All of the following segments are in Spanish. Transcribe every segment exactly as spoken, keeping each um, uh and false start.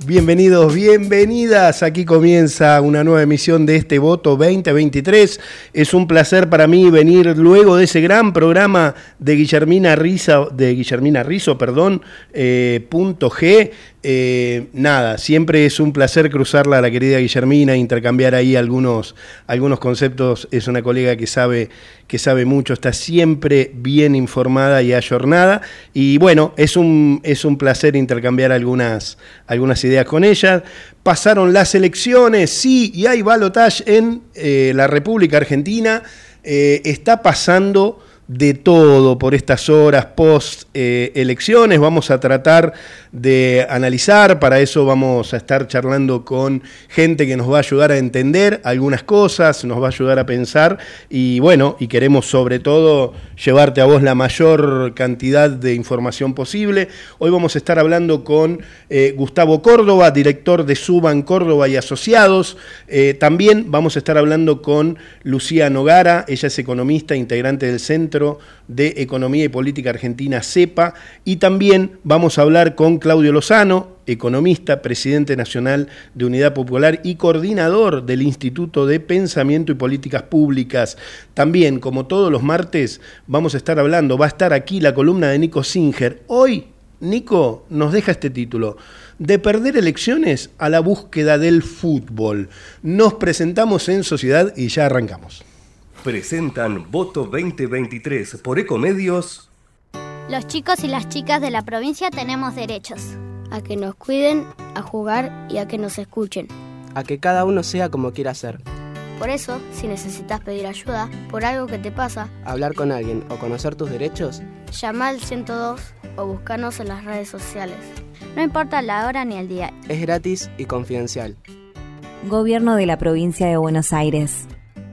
Bienvenidos, bienvenidas. Aquí comienza una nueva emisión de este Voto veinte veintitrés. Es un placer para mí venir luego de ese gran programa de Guillermina Rizzo, de Guillermina Rizzo, perdón, eh, punto G. Eh, nada, siempre es un placer cruzarla a la querida Guillermina, intercambiar ahí algunos, algunos conceptos. Es una colega que sabe, que sabe mucho, está siempre bien informada y ayornada. Y bueno, es un, es un placer intercambiar algunas, algunas ideas con ella. Pasaron las elecciones, sí, y hay balotaje en eh, la República Argentina. Eh, está pasando de todo por estas horas post eh, elecciones. Vamos a tratar de analizar, para eso vamos a estar charlando con gente que nos va a ayudar a entender algunas cosas, nos va a ayudar a pensar y bueno, y queremos sobre todo llevarte a vos la mayor cantidad de información posible. Hoy vamos a estar hablando con eh, Gustavo Córdoba, director de Suban Córdoba y Asociados. Eh, también vamos a estar hablando con Lucía Nogara, ella es economista, integrante del Centro de Economía y Política Argentina, CEPA, y también vamos a hablar con Claudio Lozano, economista, presidente nacional de Unidad Popular y coordinador del Instituto de Pensamiento y Políticas Públicas. También, como todos los martes, vamos a estar hablando, va a estar aquí la columna de Nico Singer. Hoy, Nico nos deja este título: de perder elecciones a la búsqueda del fútbol. Nos presentamos en sociedad y ya arrancamos. Presentan Voto veinte veintitrés por Ecomedios. Los chicos y las chicas de la provincia tenemos derechos. A que nos cuiden, a jugar y a que nos escuchen. A que cada uno sea como quiera ser. Por eso, si necesitas pedir ayuda por algo que te pasa, hablar con alguien o conocer tus derechos, llama al ciento dos o búscanos en las redes sociales. No importa la hora ni el día. Es gratis y confidencial. Gobierno de la Provincia de Buenos Aires.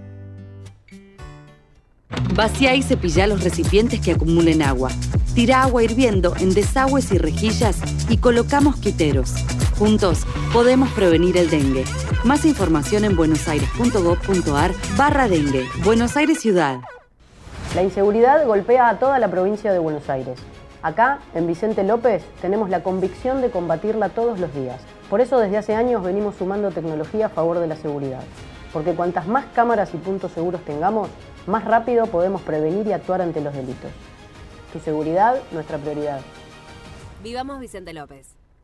Vacía y cepilla los recipientes que acumulen agua. Tira agua hirviendo en desagües y rejillas y coloca mosquiteros. Juntos podemos prevenir el dengue. Más información en buenosaires.gov.ar barra dengue. Buenos Aires Ciudad. La inseguridad golpea a toda la provincia de Buenos Aires. Acá, en Vicente López, tenemos la convicción de combatirla todos los días. Por eso desde hace años venimos sumando tecnología a favor de la seguridad. Porque cuantas más cámaras y puntos seguros tengamos, más rápido podemos prevenir y actuar ante los delitos. Tu seguridad, nuestra prioridad. Vivamos Vicente López.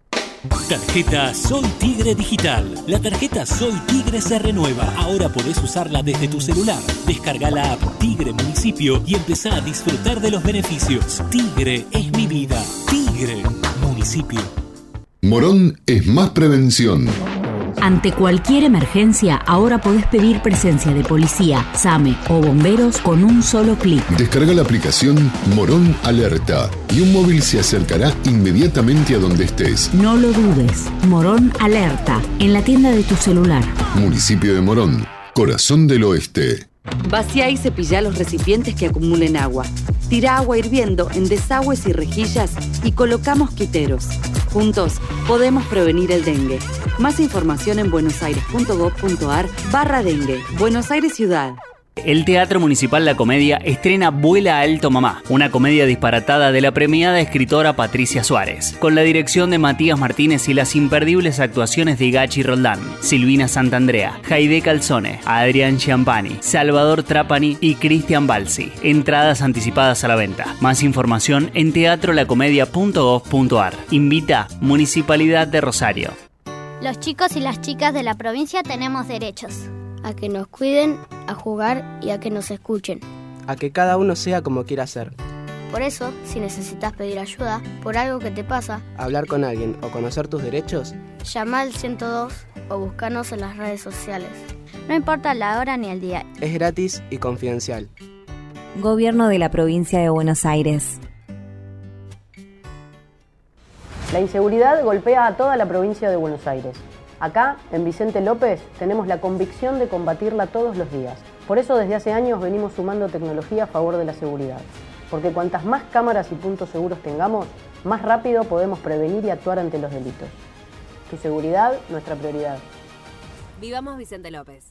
Tarjeta Soy Tigre Digital. La tarjeta Soy Tigre se renueva. Ahora podés usarla desde tu celular. Descarga la app Tigre Municipio y empezá a disfrutar de los beneficios. Tigre es mi vida. Tigre Municipio. Morón es más prevención. Ante cualquier emergencia, ahora podés pedir presencia de policía, SAME o bomberos con un solo clic. Descarga la aplicación Morón Alerta y un móvil se acercará inmediatamente a donde estés. No lo dudes. Morón Alerta, en la tienda de tu celular. Municipio de Morón, corazón del oeste. Vacía y cepilla los recipientes que acumulen agua. Tira agua hirviendo en desagües y rejillas y coloca mosquiteros. Juntos podemos prevenir el dengue. Más información en buenosaires.gov.ar barra dengue. Buenos Aires Ciudad. El Teatro Municipal La Comedia estrena Vuela Alto Mamá, una comedia disparatada de la premiada escritora Patricia Suárez, con la dirección de Matías Martínez y las imperdibles actuaciones de Gachi Roldán, Silvina Santandrea, Jaide Calzone, Adrián Chiampani, Salvador Trapani y Cristian Balsi. Entradas anticipadas a la venta. Más información en teatro la comedia punto gov punto ar. Invita Municipalidad de Rosario. Los chicos y las chicas de la provincia tenemos derechos. A que nos cuiden, a jugar y a que nos escuchen. A que cada uno sea como quiera ser. Por eso, si necesitas pedir ayuda por algo que te pasa, hablar con alguien o conocer tus derechos, llama al ciento dos o búscanos en las redes sociales. No importa la hora ni el día. Es gratis y confidencial. Gobierno de la Provincia de Buenos Aires. La inseguridad golpea a toda la provincia de Buenos Aires. Acá, en Vicente López, tenemos la convicción de combatirla todos los días. Por eso desde hace años venimos sumando tecnología a favor de la seguridad. Porque cuantas más cámaras y puntos seguros tengamos, más rápido podemos prevenir y actuar ante los delitos. Tu seguridad, nuestra prioridad. Vivamos Vicente López.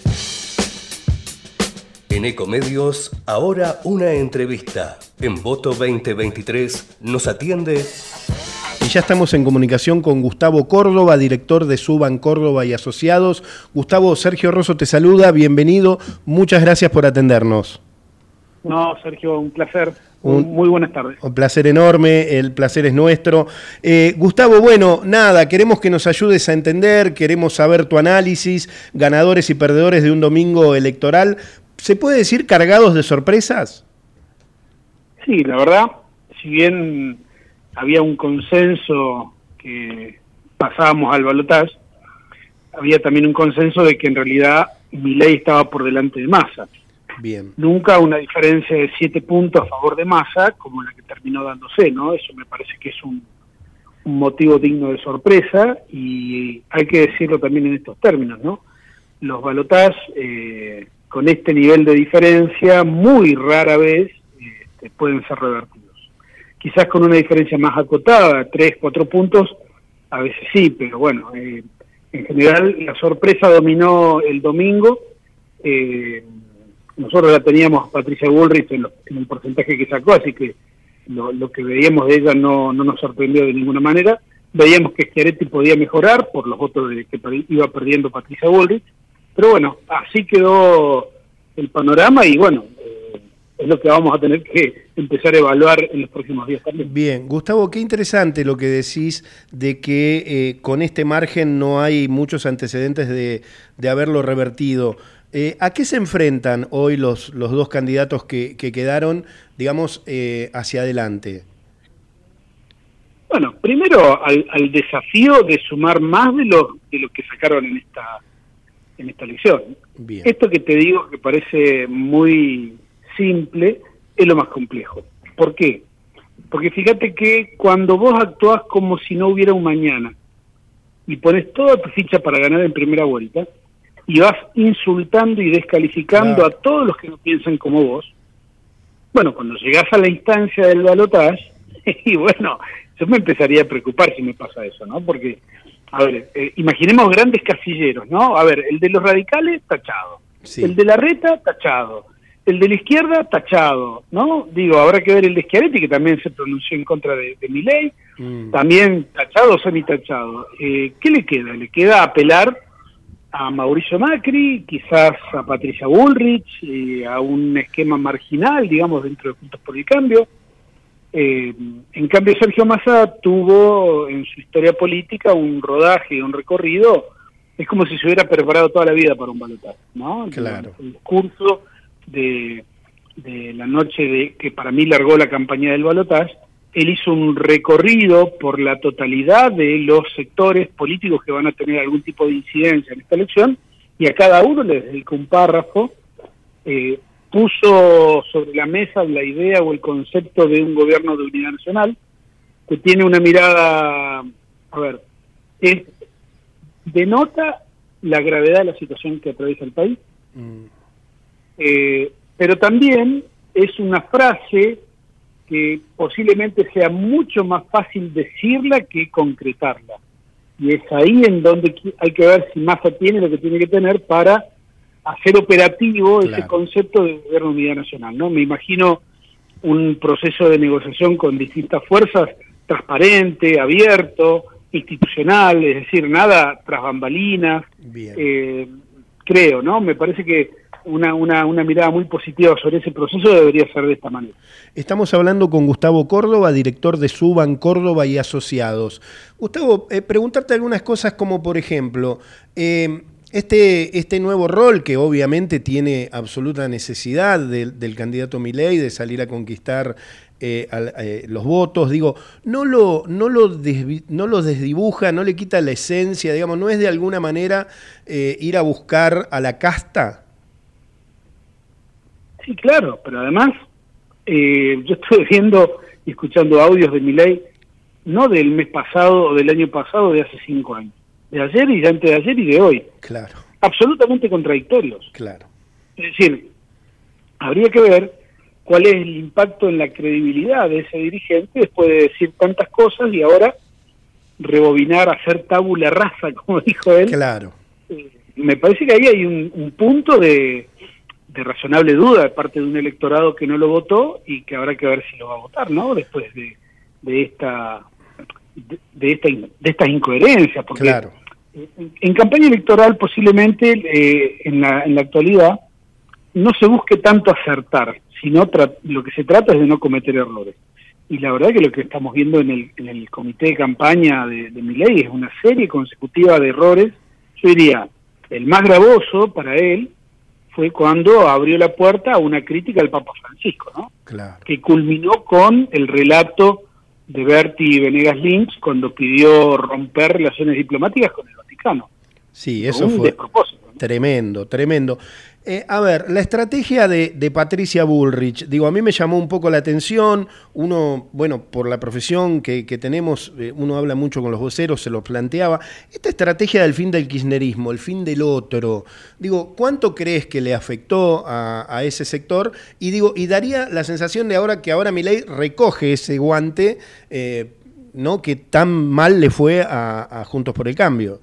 En Ecomedios, ahora una entrevista. En Voto veinte veintitrés nos atiende ya estamos en comunicación con Gustavo Córdoba, director de Suban Córdoba y Asociados. Gustavo, Sergio Rosso te saluda, bienvenido, muchas gracias por atendernos. No, Sergio, un placer. Un, Muy buenas tardes. Un placer enorme, el placer es nuestro. Eh, Gustavo, bueno, nada, queremos que nos ayudes a entender, queremos saber tu análisis, ganadores y perdedores de un domingo electoral. ¿Se puede decir cargados de sorpresas? Sí, la verdad, si bien había un consenso que pasábamos al balotaje, había también un consenso de que en realidad Milei estaba por delante de Massa. Bien. Nunca una diferencia de siete puntos a favor de Massa, como la que terminó dándose, ¿no? Eso me parece que es un, un motivo digno de sorpresa, y hay que decirlo también en estos términos, ¿no? Los balotajes, eh, con este nivel de diferencia, muy rara vez este, pueden ser revertidos. Quizás con una diferencia más acotada, tres, cuatro puntos, a veces sí, pero bueno, eh, en general la sorpresa dominó el domingo. eh, Nosotros la teníamos a Patricia Bullrich en, lo, en el porcentaje que sacó, así que lo, lo que veíamos de ella no, no nos sorprendió de ninguna manera. Veíamos que Schiaretti podía mejorar por los votos de, que per, iba perdiendo Patricia Bullrich, pero bueno, así quedó el panorama y bueno, eh, es lo que vamos a tener que empezar a evaluar en los próximos días también. Bien, Gustavo, qué interesante lo que decís de que eh, con este margen no hay muchos antecedentes de, de haberlo revertido. Eh, ¿A qué se enfrentan hoy los, los dos candidatos que, que quedaron, digamos, eh, hacia adelante? Bueno, primero al, al desafío de sumar más de lo, de lo que sacaron en esta, en esta elección. Bien. Esto que te digo que parece muy simple es lo más complejo. ¿Por qué? Porque fíjate que cuando vos actuás como si no hubiera un mañana y pones toda tu ficha para ganar en primera vuelta, y vas insultando y descalificando claro. a todos los que no piensan como vos, bueno, cuando llegás a la instancia del balotaje, y bueno, yo me empezaría a preocupar si me pasa eso, ¿no? Porque, a ver, eh, imaginemos grandes casilleros, ¿no? A ver, el de los radicales, tachado. Sí. El de la reta, tachado. El de la izquierda, tachado, ¿no? Digo, habrá que ver el de Schiaretti, que también se pronunció en contra de, de Milei, mm. también tachado o semi-tachado. Eh, ¿Qué le queda? Le queda apelar a Mauricio Macri, quizás a Patricia Bullrich, eh, a un esquema marginal, digamos, dentro de Juntos por el Cambio. Eh, en cambio, Sergio Massa tuvo en su historia política un rodaje, un recorrido, es como si se hubiera preparado toda la vida para un balotaje, ¿no? Claro. El, el discurso de, de la noche de que para mí largó la campaña del balotaje, él hizo un recorrido por la totalidad de los sectores políticos que van a tener algún tipo de incidencia en esta elección, y a cada uno le dedicó un párrafo, eh, puso sobre la mesa la idea o el concepto de un gobierno de unidad nacional, que tiene una mirada, a ver, es, denota la gravedad de la situación que atraviesa el país, mm. eh, pero también es una frase que posiblemente sea mucho más fácil decirla que concretarla. Y es ahí en donde hay que ver si Massa tiene lo que tiene que tener para hacer operativo claro. ese concepto de gobierno de unidad nacional, ¿no? Me imagino un proceso de negociación con distintas fuerzas, transparente, abierto, institucional, es decir, nada tras bambalinas. Eh, creo, ¿no? Me parece que Una, una, una mirada muy positiva sobre ese proceso debería ser de esta manera. Estamos hablando con Gustavo Córdoba, director de Suban Córdoba y Asociados. Gustavo, eh, preguntarte algunas cosas como, por ejemplo, eh, este, este nuevo rol que obviamente tiene absoluta necesidad de, del candidato Milei de salir a conquistar eh, al, eh, los votos, digo, no lo, no, lo desvi, no lo desdibuja, no le quita la esencia, digamos, no es de alguna manera eh, ir a buscar a la casta. Sí, claro, pero además eh, yo estuve viendo y escuchando audios de Milei, no del mes pasado o del año pasado, de hace cinco años, de ayer y de antes de ayer y de hoy. Claro. Absolutamente contradictorios. Claro. Es decir, habría que ver cuál es el impacto en la credibilidad de ese dirigente después de decir tantas cosas y ahora rebobinar, hacer tabula rasa, como dijo él. Claro. Eh, me parece que ahí hay un, un punto de... de razonable duda de parte de un electorado que no lo votó y que habrá que ver si lo va a votar, ¿no? Después de, de esta de, de, esta, de estas incoherencias, porque claro. en, en campaña electoral posiblemente eh, en, la, en la actualidad no se busque tanto acertar, sino lo que se trata es de no cometer errores. Y la verdad que lo que estamos viendo en el, en el comité de campaña de, de Milei es una serie consecutiva de errores. Yo diría, el más gravoso para él fue cuando abrió la puerta a una crítica al Papa Francisco, ¿no? Claro. Que culminó con el relato de Berti Venegas Lynch cuando pidió romper relaciones diplomáticas con el Vaticano. Sí, eso fue tremendo, tremendo. Eh, a ver, la estrategia de, de Patricia Bullrich, digo, a mí me llamó un poco la atención. Uno, bueno, por la profesión que, que tenemos, eh, uno habla mucho con los voceros, se lo planteaba. Esta estrategia del fin del kirchnerismo, el fin del otro, digo, ¿cuánto crees que le afectó a, a ese sector? Y digo, y daría la sensación de ahora que ahora Milei recoge ese guante, eh, ¿no? Que tan mal le fue a, a Juntos por el Cambio.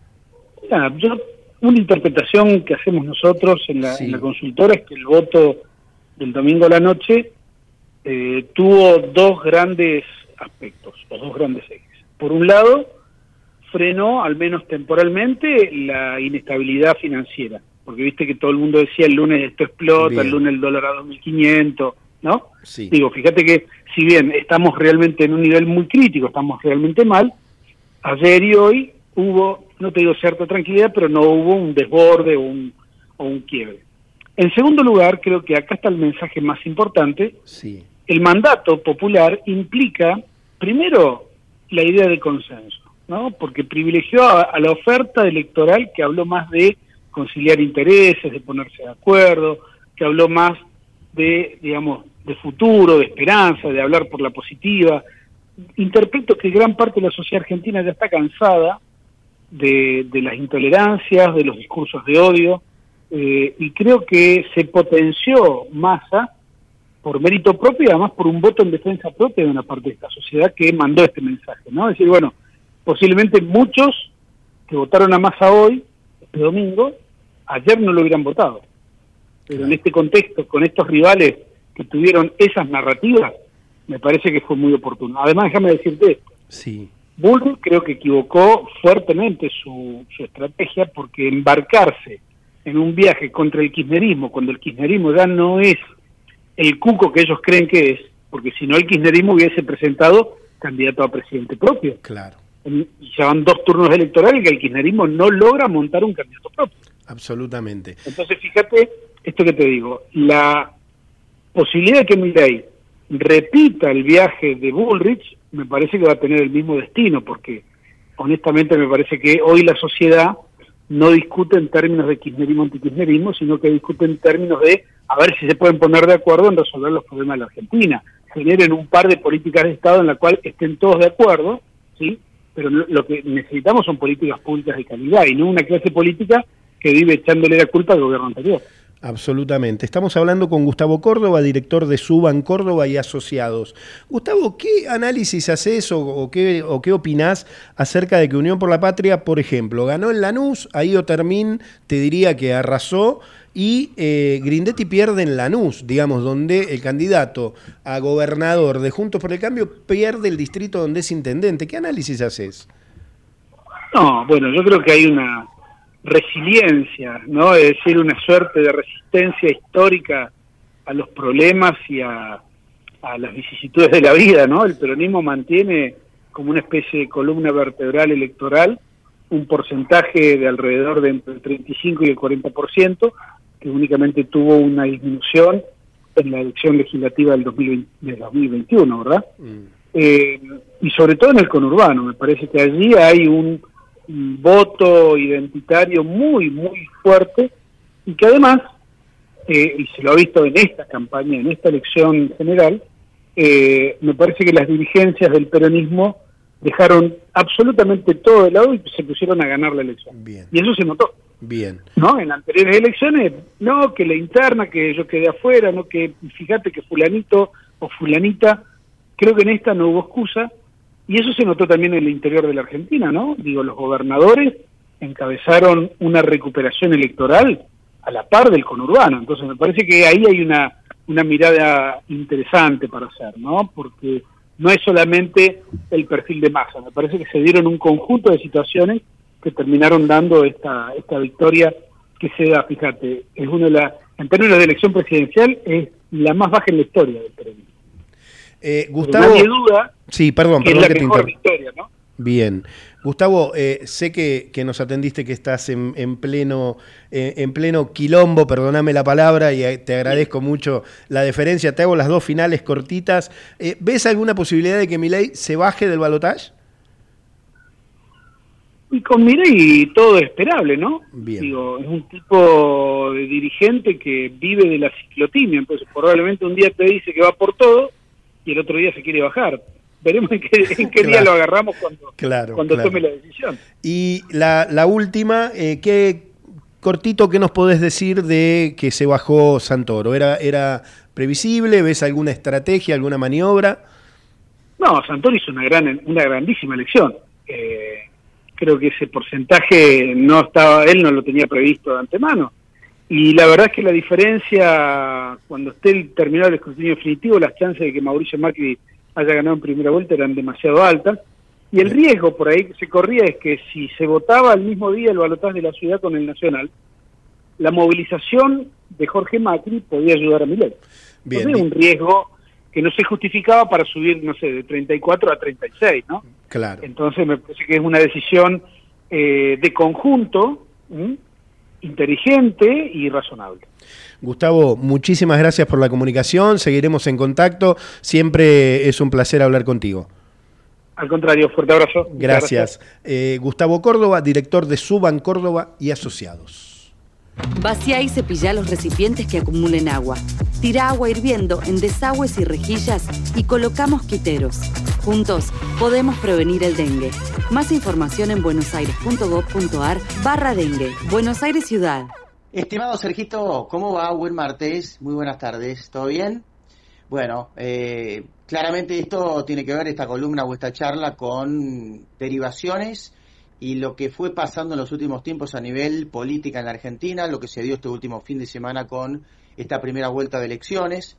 Ya, yo... Una interpretación que hacemos nosotros en la, sí. en la consultora es que el voto del domingo a la noche eh, tuvo dos grandes aspectos, o dos grandes ejes. Por un lado, frenó, al menos temporalmente, la inestabilidad financiera, porque viste que todo el mundo decía el lunes esto explota, bien. El lunes el dólar a dos mil quinientos, ¿no? Sí. Digo, fíjate que si bien estamos realmente en un nivel muy crítico, estamos realmente mal, ayer y hoy hubo, no te digo cierta tranquilidad, pero no hubo un desborde o un, o un quiebre. En segundo lugar, creo que acá está el mensaje más importante. Sí. El mandato popular implica, primero, la idea de consenso, ¿no? Porque privilegió a, a la oferta electoral que habló más de conciliar intereses, de ponerse de acuerdo, que habló más de, digamos, de futuro, de esperanza, de hablar por la positiva. Interpreto que gran parte de la sociedad argentina ya está cansada De, de las intolerancias, de los discursos de odio, eh, y creo que se potenció Massa por mérito propio y además por un voto en defensa propia de una parte de esta sociedad que mandó este mensaje, ¿no? Es decir, bueno, posiblemente muchos que votaron a Massa hoy, este domingo, ayer no lo hubieran votado, pero en este contexto, con estos rivales que tuvieron esas narrativas, me parece que fue muy oportuno. Además, déjame decirte esto. Sí. Bullrich creo que equivocó fuertemente su, su estrategia, porque embarcarse en un viaje contra el kirchnerismo, cuando el kirchnerismo ya no es el cuco que ellos creen que es, porque si no el kirchnerismo hubiese presentado candidato a presidente propio. Claro. Y ya van dos turnos electorales que el kirchnerismo no logra montar un candidato propio. Absolutamente. Entonces fíjate, esto que te digo, la posibilidad de que Milei repita el viaje de Bullrich me parece que va a tener el mismo destino, porque honestamente me parece que hoy la sociedad no discute en términos de kirchnerismo antikirchnerismo, sino que discute en términos de a ver si se pueden poner de acuerdo en resolver los problemas de la Argentina. Generen un par de políticas de Estado en la cual estén todos de acuerdo, ¿sí? Pero lo que necesitamos son políticas públicas de calidad y no una clase política que vive echándole la culpa al gobierno anterior. Absolutamente. Estamos hablando con Gustavo Córdoba, director de Suban Córdoba y Asociados. Gustavo, ¿qué análisis haces o, o, qué, o qué opinás acerca de que Unión por la Patria, por ejemplo, ganó en Lanús, ahí Otermín te diría que arrasó, y eh, Grindetti pierde en Lanús, digamos, donde el candidato a gobernador de Juntos por el Cambio pierde el distrito donde es intendente? ¿Qué análisis haces? No, bueno, yo creo que hay una resiliencia, ¿no? Es decir, una suerte de resistencia histórica a los problemas y a, a las vicisitudes de la vida, ¿no? El peronismo mantiene como una especie de columna vertebral electoral un porcentaje de alrededor de entre el treinta y cinco y el cuarenta por ciento, que únicamente tuvo una disminución en la elección legislativa del dos mil veinte, del dos mil veintiuno, ¿verdad? Mm. Eh, y sobre todo en el conurbano, me parece que allí hay un un voto identitario muy, muy fuerte, y que además, eh, y se lo ha visto en esta campaña, en esta elección general, eh, me parece que las dirigencias del peronismo dejaron absolutamente todo de lado y se pusieron a ganar la elección. Bien. Y eso se notó. Bien. ¿No? En anteriores elecciones, no, que la interna, que yo quedé afuera, no, que fíjate que fulanito o fulanita, creo que en esta no hubo excusa. Y eso se notó también en el interior de la Argentina, ¿no? Digo, los gobernadores encabezaron una recuperación electoral a la par del conurbano. Entonces me parece que ahí hay una, una mirada interesante para hacer, ¿no? Porque no es solamente el perfil de Massa. Me parece que se dieron un conjunto de situaciones que terminaron dando esta esta victoria que se da, fíjate, es una de las, en términos de elección presidencial, es la más baja en la historia del peronismo. Eh, Gustavo, nadie duda sí, perdón, que perdón es la que mejor te victoria, ¿no? Bien. Gustavo, eh, sé que, que nos atendiste, que estás en, en pleno eh, en pleno quilombo, perdóname la palabra, y te agradezco mucho la deferencia. Te hago las dos finales cortitas. Eh, ¿Ves alguna posibilidad de que Milei se baje del balotaje? Y con Milei todo es esperable, ¿no? Bien. Digo, es un tipo de dirigente que vive de la ciclotimia, entonces probablemente un día te dice que va por todo y el otro día se quiere bajar. Veremos en qué, en qué Claro. día lo agarramos cuando, Claro, cuando claro. tome la decisión. Y la, la última, eh, ¿qué cortito qué nos podés decir de que se bajó Santoro? ¿Era, era previsible? ¿Ves alguna estrategia, alguna maniobra? No, Santoro hizo una gran, una grandísima elección. Eh, creo que ese porcentaje no estaba, él no lo tenía previsto de antemano. Y la verdad es que la diferencia, cuando esté el, terminado el escrutinio definitivo, las chances de que Mauricio Macri haya ganado en primera vuelta eran demasiado altas. Y el riesgo por ahí que se corría es que si se votaba al mismo día el balotaje de la ciudad con el nacional, la movilización de Jorge Macri podía ayudar a Milei. Bien. Entonces, un riesgo que no se justificaba para subir, no sé, de treinta y cuatro a treinta y seis, ¿no? Claro. Entonces me parece que es una decisión eh, de conjunto, ¿m? inteligente y razonable. Gustavo, muchísimas gracias por la comunicación, seguiremos en contacto, siempre es un placer hablar contigo. Al contrario, fuerte abrazo. Gracias. gracias. Eh, Gustavo Córdoba, director de Suban Córdoba y Asociados. Vacía y cepilla los recipientes que acumulen agua. Tira agua hirviendo en desagües y rejillas y coloca mosquiteros. Juntos podemos prevenir el dengue. Más información en buenosaires.gov.ar barra dengue. Buenos Aires Ciudad. Estimado Sergito, ¿cómo va? Buen martes, muy buenas tardes, ¿todo bien? Bueno, eh, claramente esto tiene que ver, esta columna o esta charla, con derivaciones y lo que fue pasando en los últimos tiempos a nivel política en la Argentina, lo que se dio este último fin de semana con esta primera vuelta de elecciones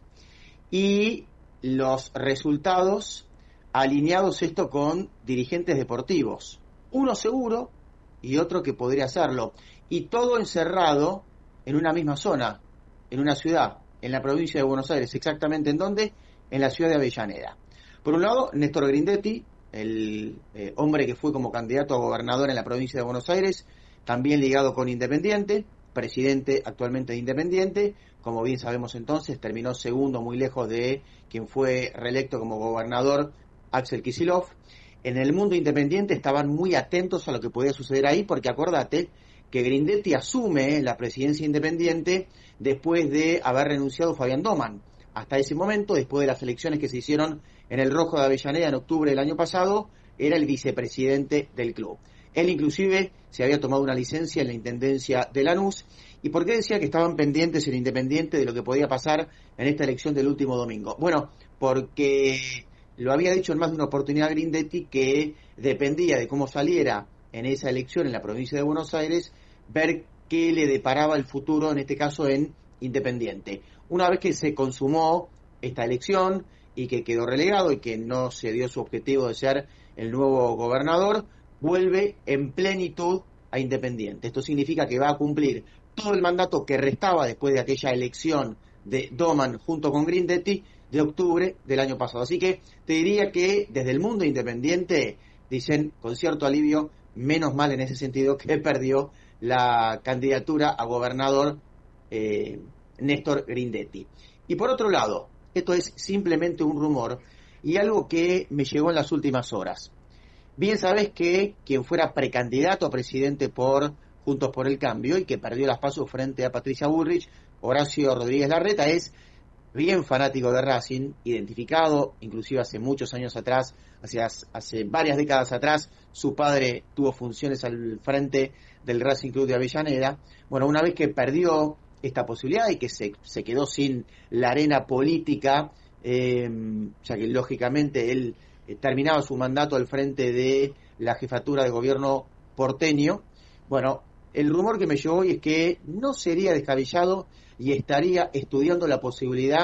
y los resultados alineados esto con dirigentes deportivos, uno seguro y otro que podría hacerlo, y todo encerrado en una misma zona, en una ciudad, en la provincia de Buenos Aires. ¿Exactamente en dónde? En la ciudad de Avellaneda. Por un lado, Néstor Grindetti, el eh, hombre que fue como candidato a gobernador en la provincia de Buenos Aires, también ligado con Independiente, presidente actualmente de Independiente, como bien sabemos entonces, terminó segundo, muy lejos de quien fue reelecto como gobernador, Axel Kicillof. En el mundo independiente estaban muy atentos a lo que podía suceder ahí, porque acordate que Grindetti asume la presidencia independiente después de haber renunciado Fabián Doman. Hasta ese momento, después de las elecciones que se hicieron en el Rojo de Avellaneda en octubre del año pasado, era el vicepresidente del club. Él inclusive se había tomado una licencia en la Intendencia de Lanús. ¿Y por qué decía que estaban pendientes en Independiente de lo que podía pasar en esta elección del último domingo? Bueno, porque lo había dicho en más de una oportunidad Grindetti, que dependía de cómo saliera en esa elección en la provincia de Buenos Aires, ver qué le deparaba el futuro, en este caso en Independiente. Una vez que se consumó esta elección y que quedó relegado y que no se dio su objetivo de ser el nuevo gobernador, vuelve en plenitud a Independiente. Esto significa que va a cumplir todo el mandato que restaba después de aquella elección de Doman junto con Grindetti de octubre del año pasado. Así que te diría que desde el mundo independiente dicen con cierto alivio, menos mal en ese sentido, que perdió la candidatura a gobernador eh, Néstor Grindetti. Y por otro lado, esto es simplemente un rumor y algo que me llegó en las últimas horas. Bien sabés que quien fuera precandidato a presidente por Juntos por el Cambio y que perdió las pasos frente a Patricia Bullrich, Horacio Rodríguez Larreta, es bien fanático de Racing, identificado, inclusive hace muchos años atrás, hace, hace varias décadas atrás, su padre tuvo funciones al frente del Racing Club de Avellaneda. Bueno, una vez que perdió esta posibilidad y que se, se quedó sin la arena política, eh, ya que lógicamente él eh, terminaba su mandato al frente de la jefatura de gobierno porteño, bueno, el rumor que me llegó hoy es que no sería descabellado y estaría estudiando la posibilidad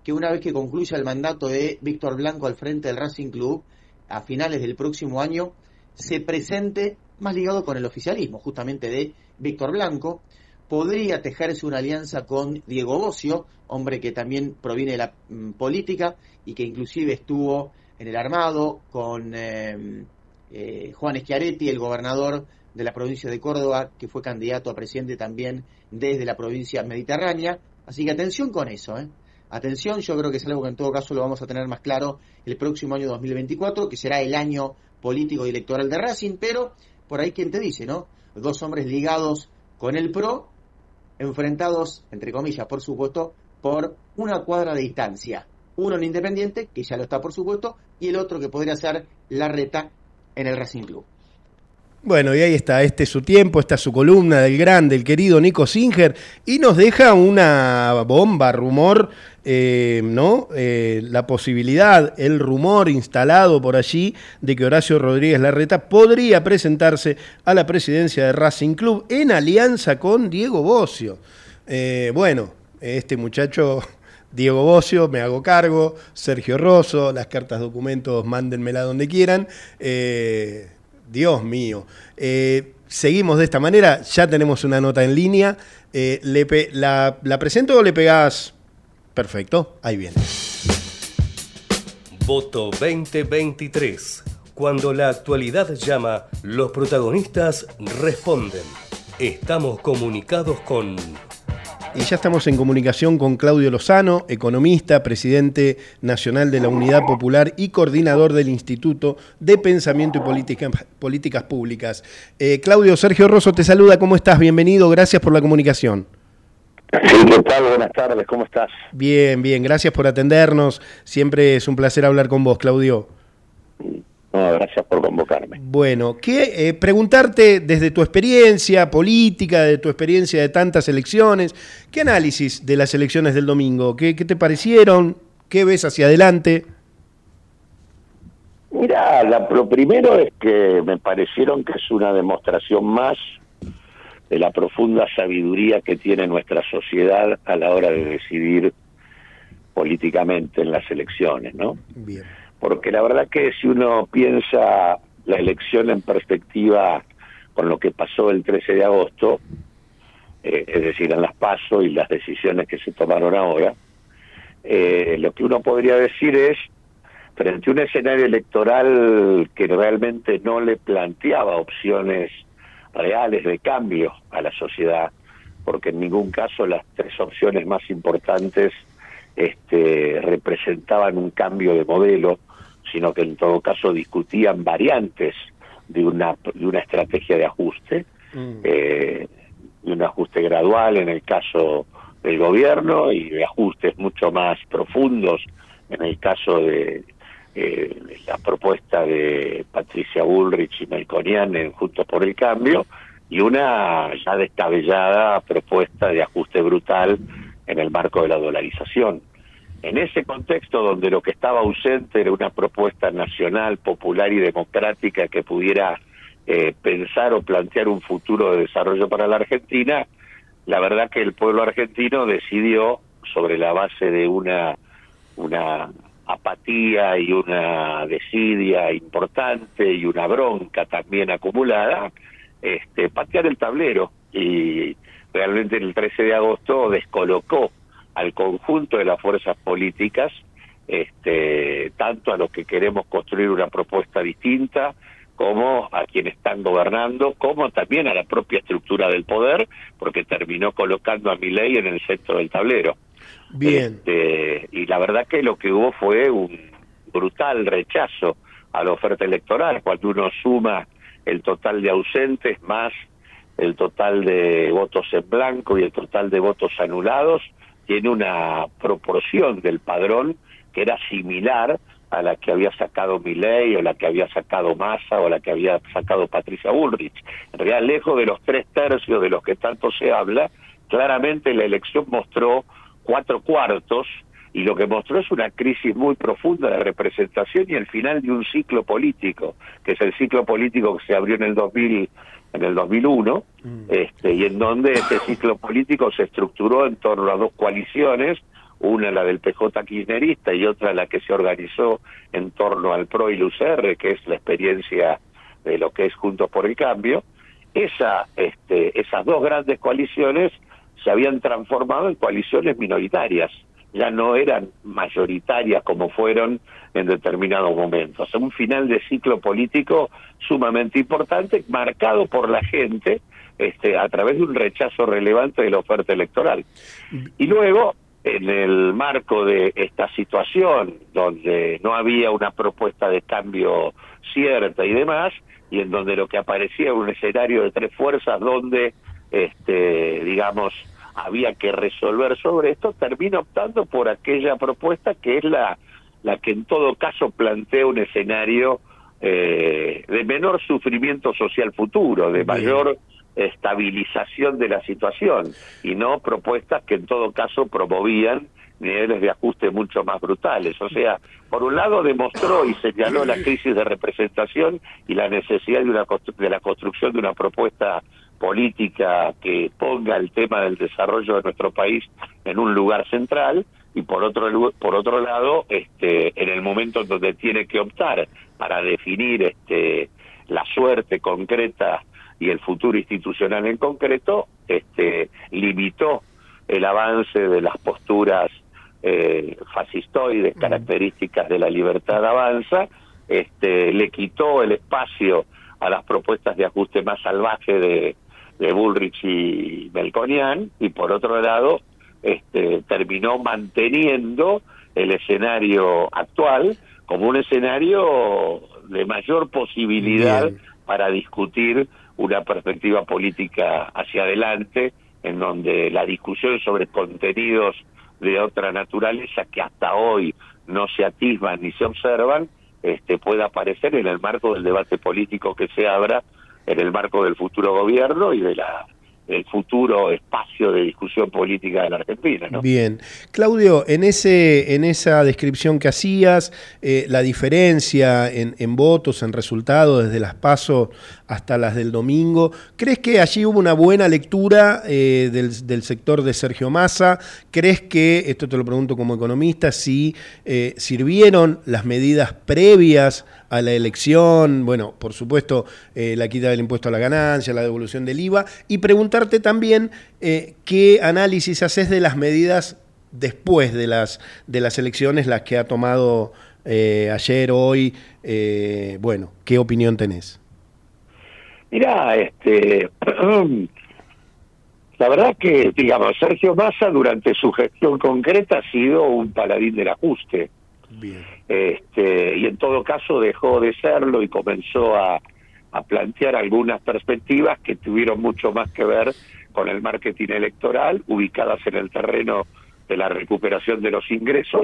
que una vez que concluya el mandato de Víctor Blanco al frente del Racing Club, a finales del próximo año, se presente más ligado con el oficialismo, justamente de Víctor Blanco. Podría tejerse una alianza con Diego Bocio, hombre que también proviene de la mm, política y que inclusive estuvo en el armado con eh, eh, Juan Schiaretti, el gobernador de la provincia de Córdoba, que fue candidato a presidente también desde la provincia mediterránea. Así que atención con eso, ¿eh? Atención, yo creo que es algo que en todo caso lo vamos a tener más claro el próximo año dos mil veinticuatro, que será el año político y electoral de Racing, pero por ahí quien te dice, ¿no? Dos hombres ligados con el PRO, enfrentados, entre comillas, por supuesto, por una cuadra de distancia. Uno en Independiente, que ya lo está por supuesto, y el otro que podría ser Larreta en el Racing Club. Bueno, y ahí está, este es su tiempo, esta es su columna del gran, del querido Nico Singer, y nos deja una bomba, rumor, eh, ¿no? Eh, la posibilidad, el rumor instalado por allí de que Horacio Rodríguez Larreta podría presentarse a la presidencia de Racing Club en alianza con Diego Bocio. Eh, bueno, este muchacho... Diego Bocio, me hago cargo, Sergio Rosso, las cartas documentos, mándenmela donde quieran. Eh, Dios mío. Eh, seguimos de esta manera, ya tenemos una nota en línea. Eh, le pe- la, ¿La presento o le pegás? Perfecto, ahí viene. Voto veinte veintitrés. Cuando la actualidad llama, los protagonistas responden. Estamos comunicados con... Y ya estamos en comunicación con Claudio Lozano, economista, presidente nacional de la Unidad Popular y coordinador del Instituto de Pensamiento y Política, Políticas Públicas. Eh, Claudio, Sergio Rosso te saluda, ¿cómo estás? Bienvenido, gracias por la comunicación. Sí, ¿qué tal? Buenas tardes, ¿cómo estás? Bien, bien, gracias por atendernos. Siempre es un placer hablar con vos, Claudio. No, gracias por convocarme. Bueno, ¿qué, eh, preguntarte desde tu experiencia política, de tu experiencia de tantas elecciones, ¿qué análisis de las elecciones del domingo? ¿Qué, qué te parecieron? ¿Qué ves hacia adelante? Mira, la, lo primero es que me parecieron que es una demostración más de la profunda sabiduría que tiene nuestra sociedad a la hora de decidir políticamente en las elecciones, ¿no? Bien. Porque la verdad que si uno piensa la elección en perspectiva con lo que pasó el trece de agosto, eh, es decir, en las PASO y las decisiones que se tomaron ahora, eh, lo que uno podría decir es, frente a un escenario electoral que realmente no le planteaba opciones reales de cambio a la sociedad, porque en ningún caso las tres opciones más importantes este, representaban un cambio de modelo, sino que en todo caso discutían variantes de una de una estrategia de ajuste, mm. eh, de un ajuste gradual en el caso del gobierno y de ajustes mucho más profundos en el caso de eh, la propuesta de Patricia Bullrich y Melconian en Juntos por el Cambio, y una ya descabellada propuesta de ajuste brutal en el marco de la dolarización. En ese contexto donde lo que estaba ausente era una propuesta nacional, popular y democrática que pudiera eh, pensar o plantear un futuro de desarrollo para la Argentina, la verdad que el pueblo argentino decidió, sobre la base de una, una apatía y una desidia importante y una bronca también acumulada, este, patear el tablero, y realmente el trece de agosto descolocó al conjunto de las fuerzas políticas, este, tanto a los que queremos construir una propuesta distinta, como a quienes están gobernando, como también a la propia estructura del poder, porque terminó colocando a Milei en el centro del tablero. Bien. Este, y la verdad que lo que hubo fue un brutal rechazo a la oferta electoral, cuando uno suma el total de ausentes más el total de votos en blanco y el total de votos anulados, tiene una proporción del padrón que era similar a la que había sacado Milei, o la que había sacado Massa, o la que había sacado Patricia Bullrich. En realidad, lejos de los tres tercios de los que tanto se habla, claramente la elección mostró cuatro cuartos, y lo que mostró es una crisis muy profunda de representación y el final de un ciclo político, que es el ciclo político que se abrió en el dos mil, en el dos mil uno, mm. este, y en donde ese ciclo político se estructuró en torno a dos coaliciones, una la del P J kirchnerista y otra la que se organizó en torno al P R O y el U C R, que es la experiencia de lo que es Juntos por el Cambio, esa, este, esas dos grandes coaliciones se habían transformado en coaliciones minoritarias, ya no eran mayoritarias como fueron en determinados momentos. Un final de ciclo político sumamente importante, marcado por la gente este, a través de un rechazo relevante de la oferta electoral. Y luego, en el marco de esta situación, donde no había una propuesta de cambio cierta y demás, y en donde lo que aparecía era un escenario de tres fuerzas donde, este, digamos, había que resolver sobre esto, termina optando por aquella propuesta que es la, la que en todo caso plantea un escenario eh, de menor sufrimiento social futuro, de mayor estabilización de la situación, y no propuestas que en todo caso promovían niveles de ajuste mucho más brutales. O sea, por un lado demostró y señaló la crisis de representación y la necesidad de, una de la construcción de una propuesta política que ponga el tema del desarrollo de nuestro país en un lugar central, y por otro por otro lado, este, en el momento en donde tiene que optar para definir este, la suerte concreta y el futuro institucional en concreto, este, limitó el avance de las posturas eh, fascistoides, características de la libertad avanza, este, le quitó el espacio a las propuestas de ajuste más salvaje de, de Bullrich y Melconian, y por otro lado este, terminó manteniendo el escenario actual como un escenario de mayor posibilidad Bien. para discutir una perspectiva política hacia adelante, en donde la discusión sobre contenidos de otra naturaleza que hasta hoy no se atisban ni se observan, este, pueda aparecer en el marco del debate político que se abra en el marco del futuro gobierno y de la el futuro espacio de discusión política de la Argentina, ¿no? Bien. Claudio, en ese en esa descripción que hacías, eh, la diferencia en, en votos, en resultados, desde las PASO hasta las del domingo, ¿crees que allí hubo una buena lectura eh, del, del sector de Sergio Massa? ¿Crees que, esto te lo pregunto como economista, si eh, sirvieron las medidas previas a la elección? Bueno, por supuesto, eh, la quita del impuesto a la ganancia, la devolución del I V A, y preguntarte también eh, qué análisis haces de las medidas después de las de las elecciones, las que ha tomado eh, ayer, hoy, eh, bueno, ¿qué opinión tenés? Mirá, este, la verdad que, digamos, Sergio Massa durante su gestión concreta ha sido un paladín del ajuste. Bien. Este, y en todo caso dejó de serlo y comenzó a, a plantear algunas perspectivas que tuvieron mucho más que ver con el marketing electoral, ubicadas en el terreno de la recuperación de los ingresos,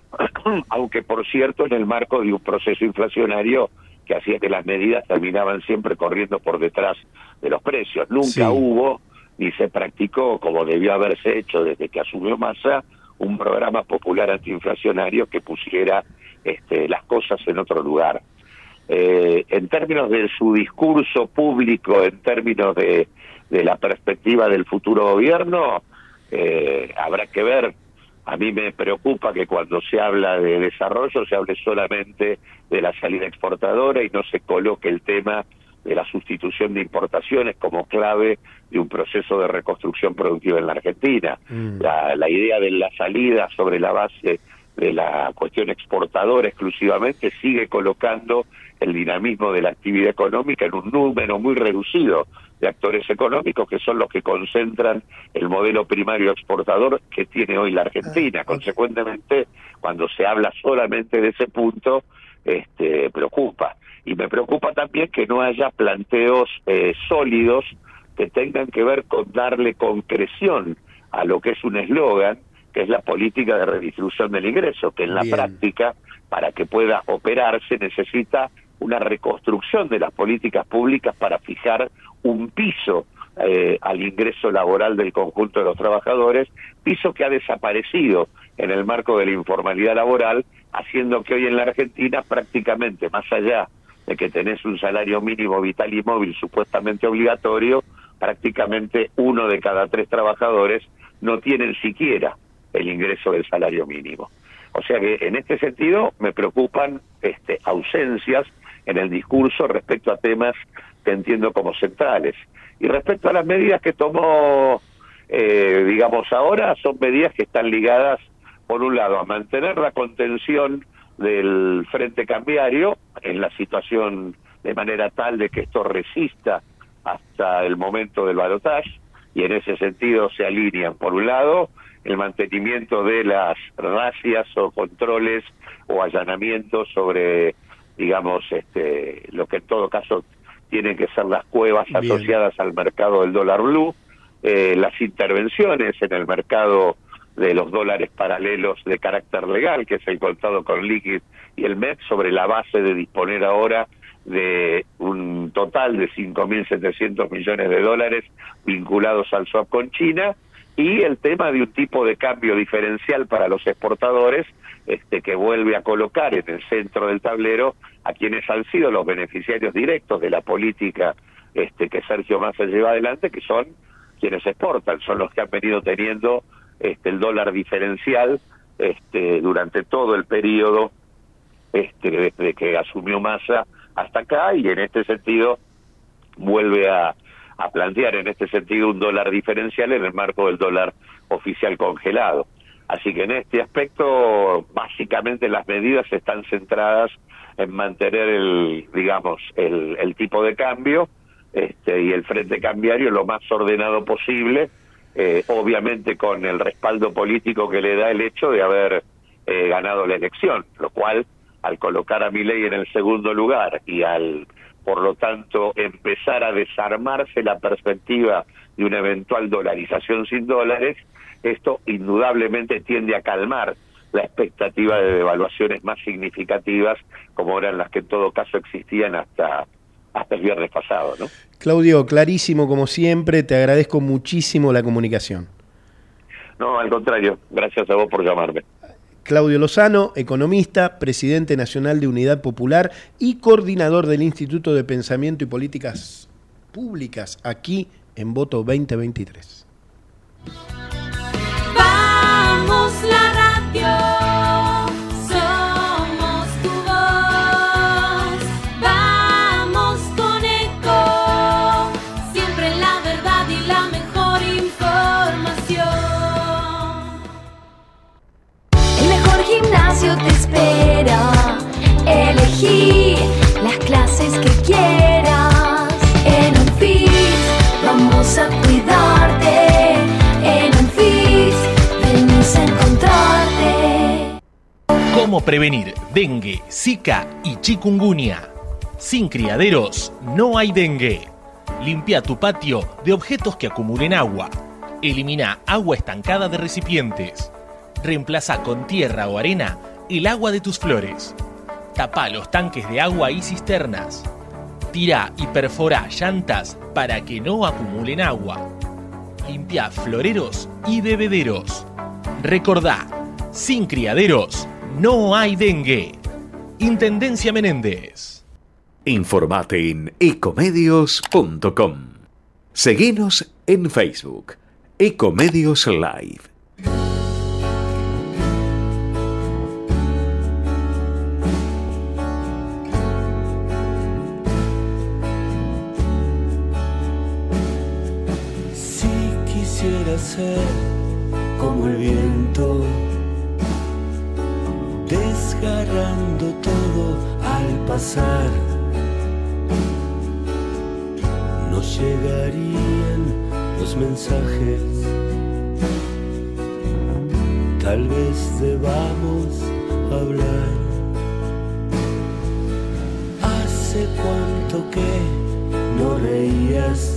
aunque por cierto en el marco de un proceso inflacionario que hacía que las medidas terminaban siempre corriendo por detrás de los precios. Nunca sí. hubo ni se practicó, como debió haberse hecho desde que asumió Massa, un programa popular antiinflacionario que pusiera este, las cosas en otro lugar. Eh, en términos de su discurso público, en términos de, de la perspectiva del futuro gobierno, eh, habrá que ver. A mí me preocupa que cuando se habla de desarrollo se hable solamente de la salida exportadora y no se coloque el tema de la sustitución de importaciones como clave de un proceso de reconstrucción productiva en la Argentina. Mm. La, la idea de la salida sobre la base de la cuestión exportadora exclusivamente sigue colocando el dinamismo de la actividad económica en un número muy reducido de actores económicos que son los que concentran el modelo primario exportador que tiene hoy la Argentina. Consecuentemente, cuando se habla solamente de ese punto, este, preocupa. Y me preocupa también que no haya planteos eh, sólidos que tengan que ver con darle concreción a lo que es un eslogan, que es la política de redistribución del ingreso, que en la Bien. práctica, para que pueda operarse, necesita una reconstrucción de las políticas públicas para fijar un piso eh, al ingreso laboral del conjunto de los trabajadores, piso que ha desaparecido en el marco de la informalidad laboral, haciendo que hoy en la Argentina prácticamente, más allá de que tenés un salario mínimo vital y móvil supuestamente obligatorio, prácticamente uno de cada tres trabajadores no tienen siquiera el ingreso del salario mínimo. O sea que en este sentido me preocupan este, ausencias en el discurso respecto a temas que entiendo como centrales. Y respecto a las medidas que tomó, eh, digamos ahora, son medidas que están ligadas, por un lado, a mantener la contención del frente cambiario en la situación de manera tal de que esto resista hasta el momento del balotaje, y en ese sentido se alinean, por un lado, el mantenimiento de las razias o controles o allanamientos sobre, digamos, este, lo que en todo caso tienen que ser las cuevas Bien. asociadas al mercado del dólar blue, eh, las intervenciones en el mercado de los dólares paralelos de carácter legal, que es el contado con liquid y el M E P, sobre la base de disponer ahora de un total de cinco mil setecientos millones de dólares vinculados al swap con China, y el tema de un tipo de cambio diferencial para los exportadores, este, que vuelve a colocar en el centro del tablero a quienes han sido los beneficiarios directos de la política este, que Sergio Massa lleva adelante, que son quienes exportan, son los que han venido teniendo este, el dólar diferencial este, durante todo el periodo este, desde que asumió Massa hasta acá, y en este sentido vuelve a a plantear en este sentido un dólar diferencial en el marco del dólar oficial congelado. Así que en este aspecto, básicamente las medidas están centradas en mantener el, digamos, el, el tipo de cambio este, y el frente cambiario lo más ordenado posible, eh, obviamente con el respaldo político que le da el hecho de haber eh, ganado la elección, lo cual, al colocar a Milei en el segundo lugar y al por lo tanto empezar a desarmarse la perspectiva de una eventual dolarización sin dólares, esto indudablemente tiende a calmar la expectativa de devaluaciones más significativas, como eran las que en todo caso existían hasta, hasta el viernes pasado, ¿no? Claudio, clarísimo como siempre, te agradezco muchísimo la comunicación. No, al contrario, gracias a vos por llamarme. Claudio Lozano, economista, presidente nacional de Unidad Popular y coordinador del Instituto de Pensamiento y Políticas Públicas, aquí en Voto veinte veintitrés. Vamos la radio, somos tu voz, vamos con Eco, siempre la verdad y la mejor información. Gimnasio te espera, elegí las clases que quieras. En Anfis vamos a cuidarte, en Anfis venimos a encontrarte. ¿Cómo prevenir dengue, zika y chikungunya? Sin criaderos no hay dengue. Limpia tu patio de objetos que acumulen agua. Elimina agua estancada de recipientes. Reemplaza con tierra o arena el agua de tus flores. Tapa los tanques de agua y cisternas. Tira y perfora llantas para que no acumulen agua. Limpia floreros y bebederos. Recordá, sin criaderos no hay dengue. Intendencia Menéndez. Informate en ecomedios punto com. Seguinos en Facebook. Ecomedios Live. Ser como el viento, desgarrando todo al pasar. Nos llegarían los mensajes, tal vez debamos hablar. Hace cuánto que no reías.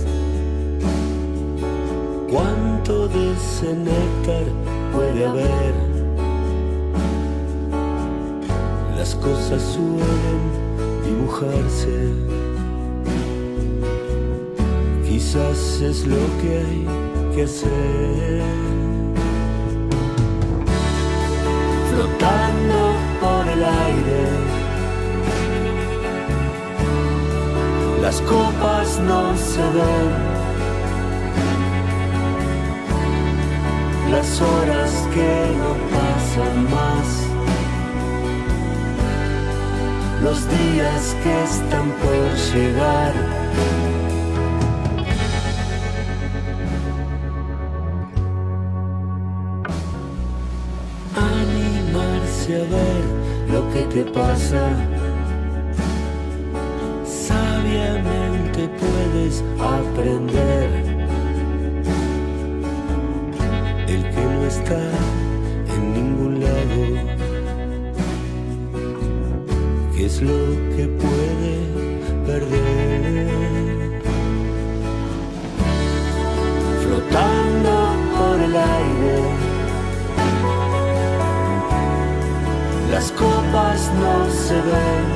¿Cuánto de ese néctar puede haber? Las cosas suelen dibujarse. Quizás es lo que hay que hacer. Flotando por el aire, las copas no se ven. las horas que no pasan más, los días que están por llegar. Animarse a ver lo que te pasa, sabiamente puedes aprender. El que no está en ningún lado, ¿qué es lo que puede perder? Flotando por el aire, las copas no se ven,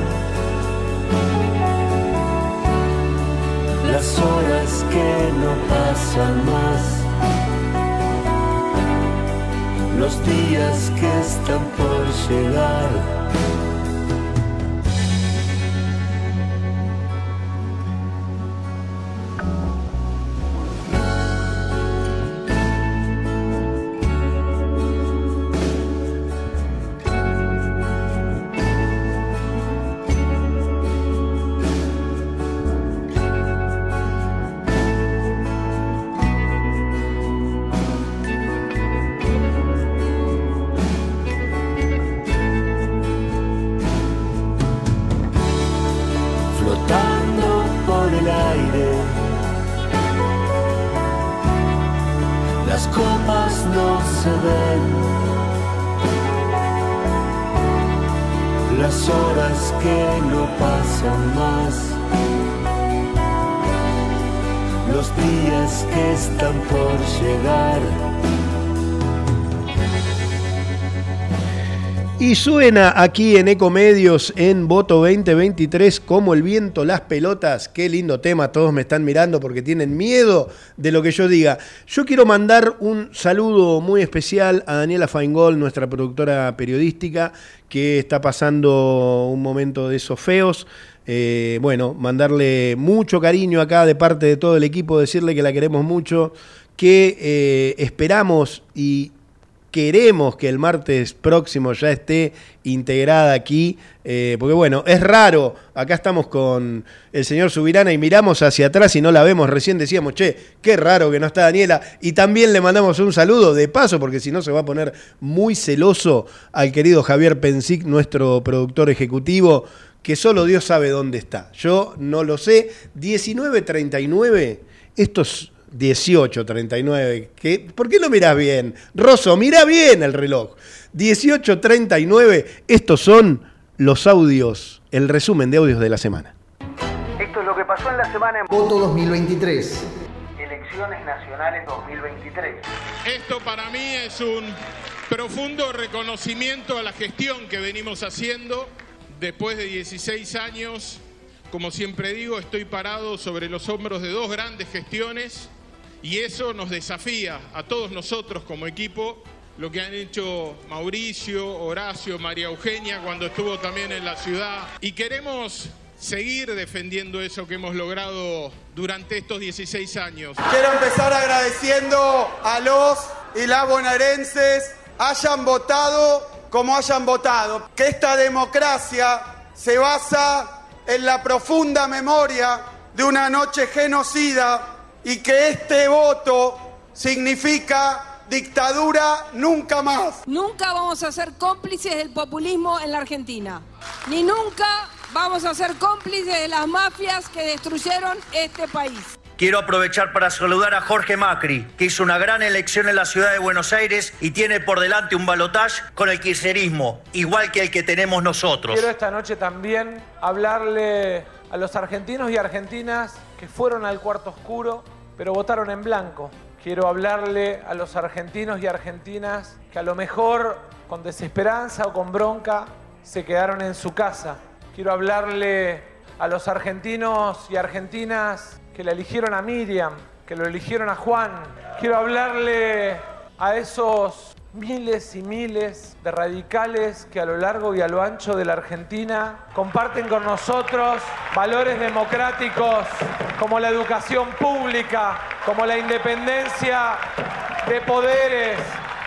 las horas que no pasan más, los días que están por llegar. Las horas que no pasan más, los días que están por llegar. Y suena aquí en Ecomedios en Voto veinte veintitrés como el viento las pelotas. Qué lindo tema, todos me están mirando porque tienen miedo de lo que yo diga. Yo quiero mandar un saludo muy especial a Daniela Feingold, nuestra productora periodística, que está pasando un momento de esos feos. Eh, bueno, mandarle mucho cariño acá de parte de todo el equipo, decirle que la queremos mucho, que eh, esperamos y queremos que el martes próximo ya esté integrada aquí, eh, porque bueno, es raro, acá estamos con el señor Subirana y miramos hacia atrás y no la vemos, recién decíamos, che, qué raro que no está Daniela, y también le mandamos un saludo de paso, porque si no se va a poner muy celoso al querido Javier Pensic, nuestro productor ejecutivo, que solo Dios sabe dónde está, yo no lo sé. Diecinueve treinta y nueve, estos dieciocho treinta y nueve, ¿qué? ¿Por qué no mirás bien? Rosso, mirá bien el reloj. dieciocho treinta y nueve, estos son los audios, el resumen de audios de la semana. Esto es lo que pasó en la semana en Voto dos mil veintitrés. Elecciones Nacionales dos mil veintitrés. Esto para mí es un profundo reconocimiento a la gestión que venimos haciendo después de dieciséis años. Como siempre digo, estoy parado sobre los hombros de dos grandes gestiones y eso nos desafía a todos nosotros como equipo, lo que han hecho Mauricio, Horacio, María Eugenia cuando estuvo también en la ciudad, y queremos seguir defendiendo eso que hemos logrado durante estos dieciséis años. Quiero empezar agradeciendo a los y las bonaerenses, hayan votado como hayan votado, que esta democracia se basa en la profunda memoria de una noche genocida y que este voto significa dictadura nunca más. Nunca vamos a ser cómplices del populismo en la Argentina, ni nunca vamos a ser cómplices de las mafias que destruyeron este país. Quiero aprovechar para saludar a Jorge Macri, que hizo una gran elección en la ciudad de Buenos Aires y tiene por delante un balotaje con el kirchnerismo, igual que el que tenemos nosotros. Quiero esta noche también hablarle a los argentinos y argentinas que fueron al cuarto oscuro, pero votaron en blanco. Quiero hablarle a los argentinos y argentinas que a lo mejor con desesperanza o con bronca se quedaron en su casa. Quiero hablarle a los argentinos y argentinas que le eligieron a Miriam, que lo eligieron a Juan. Quiero hablarle a esos miles y miles de radicales que a lo largo y a lo ancho de la Argentina comparten con nosotros valores democráticos como la educación pública, como la independencia de poderes,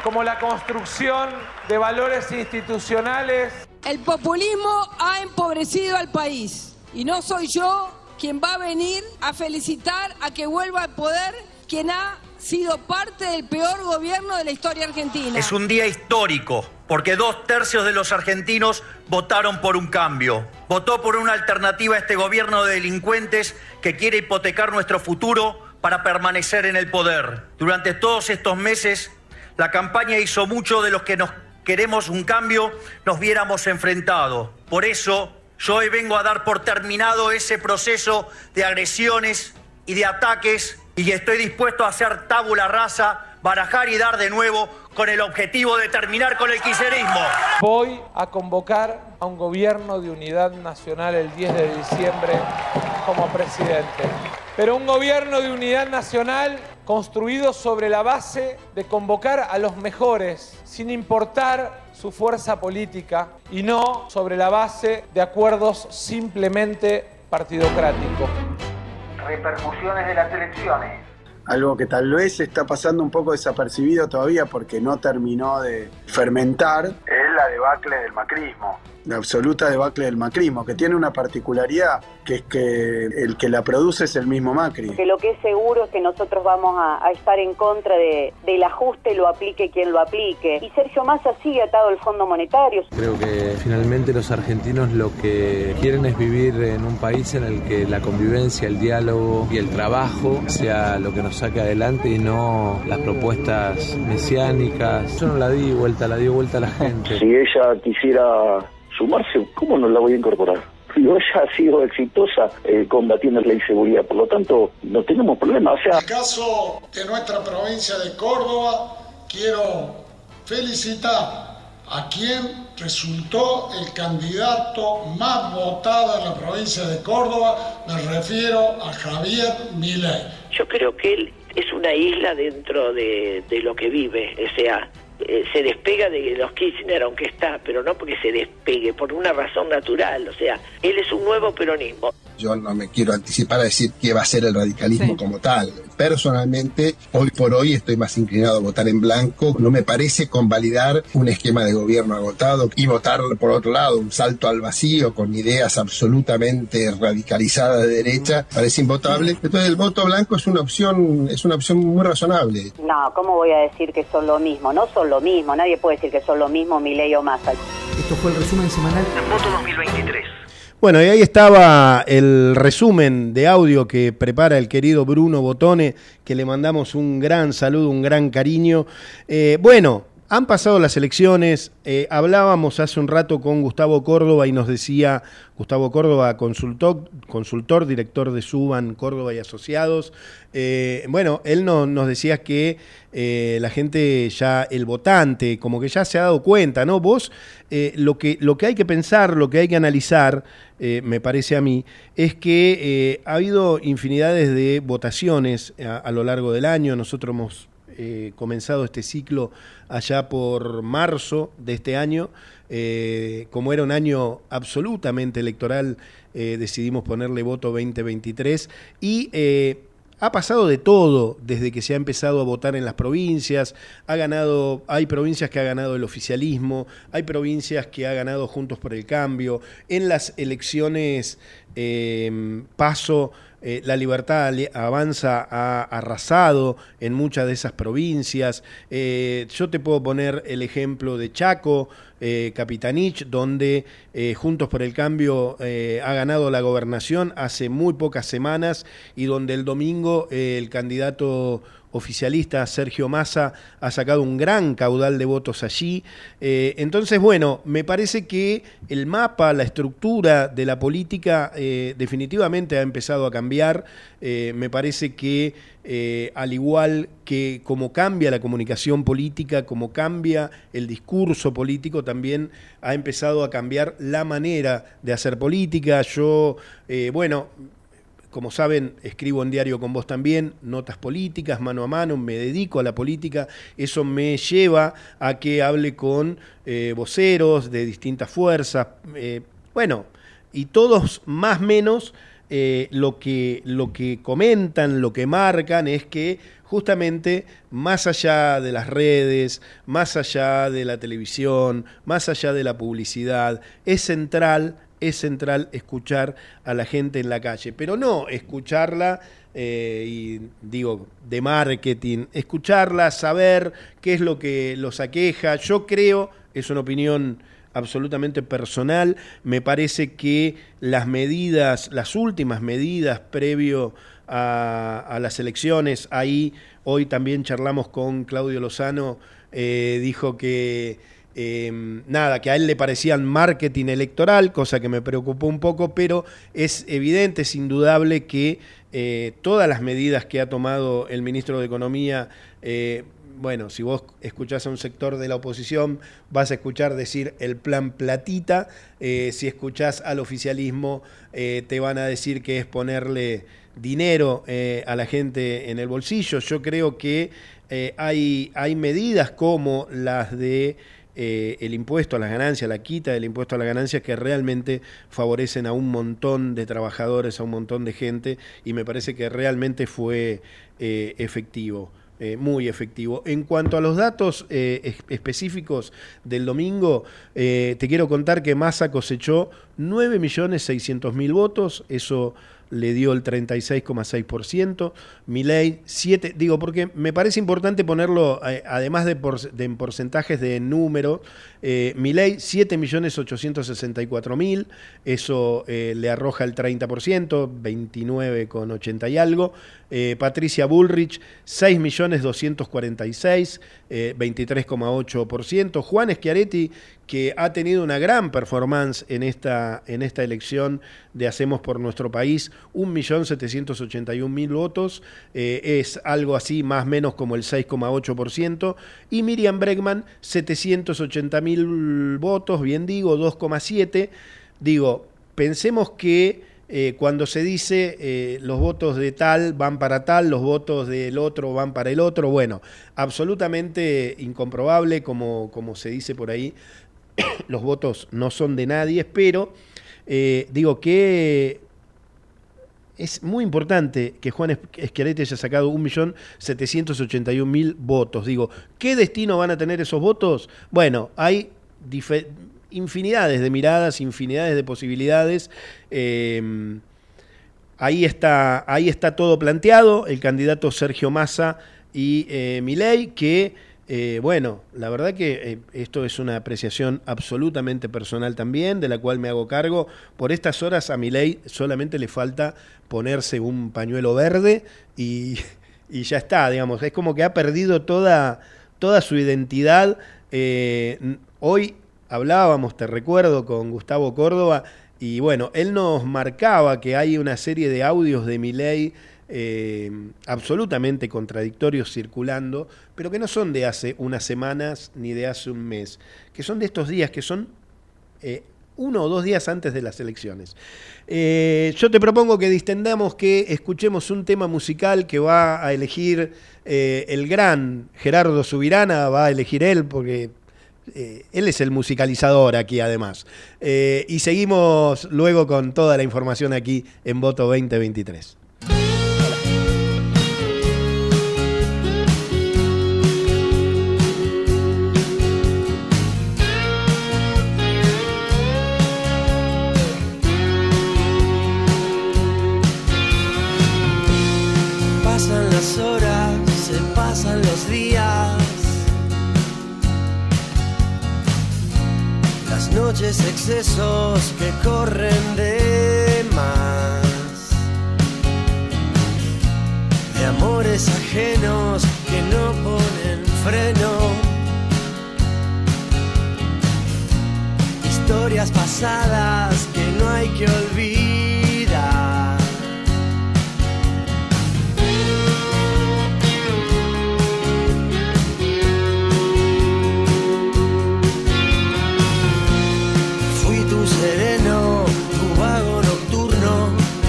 como la construcción de valores institucionales. El populismo ha empobrecido al país y no soy yo quien va a venir a felicitar a que vuelva al poder quien ha sido parte del peor gobierno de la historia argentina. Es un día histórico, porque dos tercios de los argentinos votaron por un cambio. Votó por una alternativa a este gobierno de delincuentes que quiere hipotecar nuestro futuro para permanecer en el poder. Durante todos estos meses, la campaña hizo mucho de los que nos queremos un cambio, nos viéramos enfrentados. Por eso, yo hoy vengo a dar por terminado ese proceso de agresiones y de ataques y estoy dispuesto a hacer tabula rasa, barajar y dar de nuevo con el objetivo de terminar con el kirchnerismo. Voy a convocar a un gobierno de unidad nacional el diez de diciembre como presidente. Pero un gobierno de unidad nacional construido sobre la base de convocar a los mejores, sin importar su fuerza política, y no sobre la base de acuerdos simplemente partidocráticos. Repercusiones de las elecciones. Algo que tal vez está pasando un poco desapercibido todavía porque no terminó de fermentar. Es la debacle del macrismo. La absoluta debacle del macrismo, que tiene una particularidad, que es que el que la produce es el mismo Macri. Que lo que es seguro es que nosotros vamos a, a estar en contra de, del ajuste, lo aplique quien lo aplique. Y Sergio Massa sigue atado al Fondo Monetario. Creo que finalmente los argentinos lo que quieren es vivir en un país en el que la convivencia, el diálogo y el trabajo sea lo que nos saque adelante y no las propuestas mesiánicas. Yo no la di vuelta, la di vuelta a la gente. Si ella quisiera sumarse, ¿cómo no la voy a incorporar? Digo, ella ha sido exitosa eh, combatiendo la inseguridad, por lo tanto, no tenemos problema. O sea, en el caso de nuestra provincia de Córdoba, quiero felicitar a quien resultó el candidato más votado en la provincia de Córdoba, me refiero a Javier Milei. Yo creo que él es una isla dentro de, de lo que vive, o sea, Eh, se despega de los Kirchner, aunque está, pero no porque se despegue, por una razón natural, o sea, él es un nuevo peronismo. Yo no me quiero anticipar a decir qué va a ser el radicalismo sí. como tal. Personalmente, hoy por hoy estoy más inclinado a votar en blanco. No me parece convalidar un esquema de gobierno agotado y votar, por otro lado, un salto al vacío con ideas absolutamente radicalizadas de derecha. Parece invotable. Entonces el voto blanco es una opción, es una opción muy razonable. No, ¿cómo voy a decir que son lo mismo? No son lo mismo. Nadie puede decir que son lo mismo Milei o Massa. Esto fue el resumen semanal de Voto dos mil veintitrés. Bueno, y ahí estaba el resumen de audio que prepara el querido Bruno Botone, que le mandamos un gran saludo, un gran cariño. Eh, bueno, han pasado las elecciones, eh, hablábamos hace un rato con Gustavo Córdoba y nos decía, Gustavo Córdoba, consultor, consultor director de Suban, Córdoba y Asociados, eh, bueno, él no, nos decía que eh, la gente ya, el votante, como que ya se ha dado cuenta, ¿no? Vos, eh, lo que, lo que hay que pensar, lo que hay que analizar, eh, me parece a mí, es que eh, ha habido infinidades de votaciones a, a lo largo del año. Nosotros hemos Eh, comenzado este ciclo allá por marzo de este año. Eh, como era un año absolutamente electoral, eh, decidimos ponerle voto veinte veintitrés y eh, ha pasado de todo desde que se ha empezado a votar en las provincias. Ha ganado, hay provincias que ha ganado el oficialismo, hay provincias que ha ganado Juntos por el Cambio. En las elecciones eh, PASO, Eh, la Libertad Avanza ha arrasado en muchas de esas provincias. Eh, yo te puedo poner el ejemplo de Chaco, eh, Capitanich, donde eh, Juntos por el Cambio eh, ha ganado la gobernación hace muy pocas semanas y donde el domingo eh, el candidato oficialista Sergio Massa ha sacado un gran caudal de votos allí. Eh, entonces, bueno, me parece que el mapa, la estructura de la política eh, definitivamente ha empezado a cambiar. Eh, me parece que eh, al igual que como cambia la comunicación política, como cambia el discurso político, también ha empezado a cambiar la manera de hacer política. Yo, eh, bueno... Como saben, escribo en Diario con Vos también, notas políticas, mano a mano, me dedico a la política. Eso me lleva a que hable con eh, voceros de distintas fuerzas. Eh, bueno, y todos más o menos eh, lo que, lo que comentan, lo que marcan es que justamente más allá de las redes, más allá de la televisión, más allá de la publicidad, es central, es central escuchar a la gente en la calle, pero no escucharla, eh, y digo, de marketing, escucharla, saber qué es lo que los aqueja. Yo creo, es una opinión absolutamente personal, me parece que las medidas, las últimas medidas previo a, a las elecciones, ahí hoy también charlamos con Claudio Lozano, eh, dijo que eh, nada, que a él le parecían marketing electoral, cosa que me preocupó un poco, pero es evidente, es indudable que eh, todas las medidas que ha tomado el ministro de Economía, eh, bueno, si vos escuchás a un sector de la oposición, vas a escuchar decir el plan platita, eh, si escuchás al oficialismo, eh, te van a decir que es ponerle dinero eh, a la gente en el bolsillo. Yo creo que eh, hay, hay medidas como las de eh, el impuesto a las ganancias, la quita del impuesto a las ganancias, que realmente favorecen a un montón de trabajadores, a un montón de gente, y me parece que realmente fue eh, efectivo. Eh, muy efectivo. En cuanto a los datos eh, es, específicos del domingo, eh, te quiero contar que Massa cosechó nueve millones seiscientos mil votos, eso le dio el treinta y seis coma seis por ciento, Milei siete, digo porque me parece importante ponerlo, eh, además de, por, de en porcentajes de número, eh, Milei siete millones ochocientos sesenta y cuatro mil, eso eh, le arroja el treinta por ciento, veintinueve coma ochenta y algo, eh, Patricia Bullrich seis millones doscientos cuarenta y seis, eh, veintitrés coma ocho por ciento, Juan Schiaretti, que ha tenido una gran performance en esta, en esta elección de Hacemos por Nuestro País, un millón setecientos ochenta y un mil votos, eh, es algo así más o menos como el seis coma ocho por ciento, y Miriam Bregman setecientos ochenta mil votos, bien digo, dos coma siete. Digo, pensemos que eh, cuando se dice eh, los votos de tal van para tal, los votos del otro van para el otro, bueno, absolutamente incomprobable, como, como se dice por ahí, los votos no son de nadie, pero eh, digo que es muy importante que Juan Schiaretti haya sacado un millón setecientos ochenta y un mil votos. Digo, ¿qué destino van a tener esos votos? Bueno, hay infinidades de miradas, infinidades de posibilidades. Eh, ahí está, ahí está todo planteado. El candidato Sergio Massa y eh, Milei, que Eh, bueno, la verdad que eh, esto es una apreciación absolutamente personal también, de la cual me hago cargo. Por estas horas a Milei solamente le falta ponerse un pañuelo verde y, y ya está, digamos. Es como que ha perdido toda, toda su identidad. Eh, hoy hablábamos, te recuerdo, con Gustavo Córdoba, y bueno, él nos marcaba que hay una serie de audios de Milei Eh, absolutamente contradictorios circulando, pero que no son de hace unas semanas ni de hace un mes, que son de estos días, que son eh, uno o dos días antes de las elecciones. Eh, yo te propongo que distendamos, que escuchemos un tema musical que va a elegir eh, el gran Gerardo Subirana, va a elegir él porque eh, él es el musicalizador aquí además. Eh, y seguimos luego con toda la información aquí en Voto veinte veintitrés. Horas, se pasan los días, las noches excesos que corren de más, de amores ajenos que no ponen freno, historias pasadas que no hay que olvidar. Sereno, tu vago nocturno,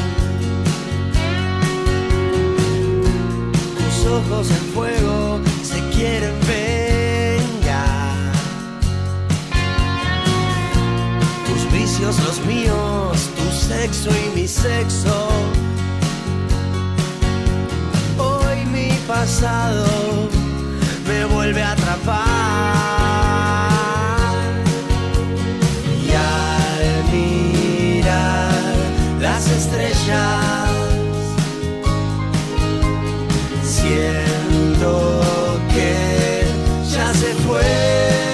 tus ojos en fuego se quieren vengar, tus vicios los míos, tus sexo y mi sexo. Hoy mi pasado me vuelve a atrapar. Y al mirar las estrellas siento que ya se fue.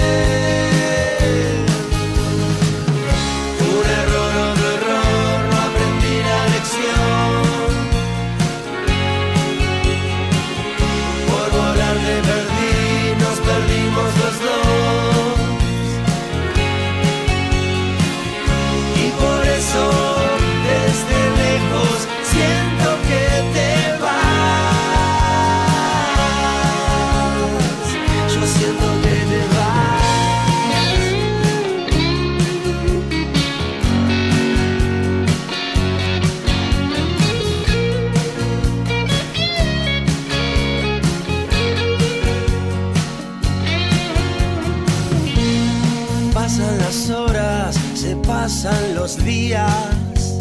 Pasan los días,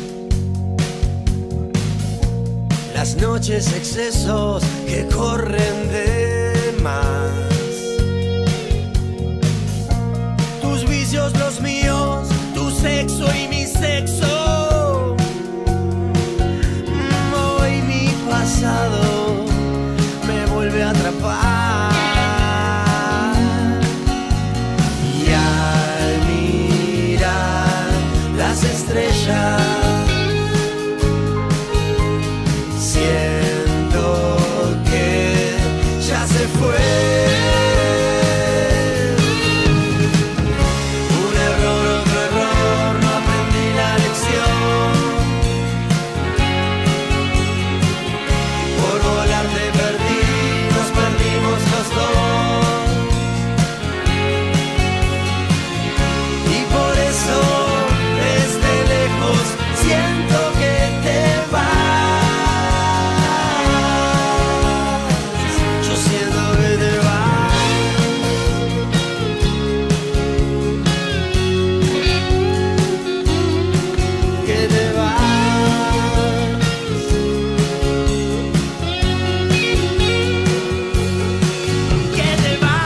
las noches excesos que corren de más. Tus vicios, los míos, tu sexo y mi sexo. Hoy mi pasado me vuelve a atrapar. Estrellas, siento que ya se fue. Un error, otro error, no aprendí la lección. Por volar te perdí, nos perdimos los dos. Y por eso siento que te vas. Yo siento que te vas. Que te vas. Que te vas.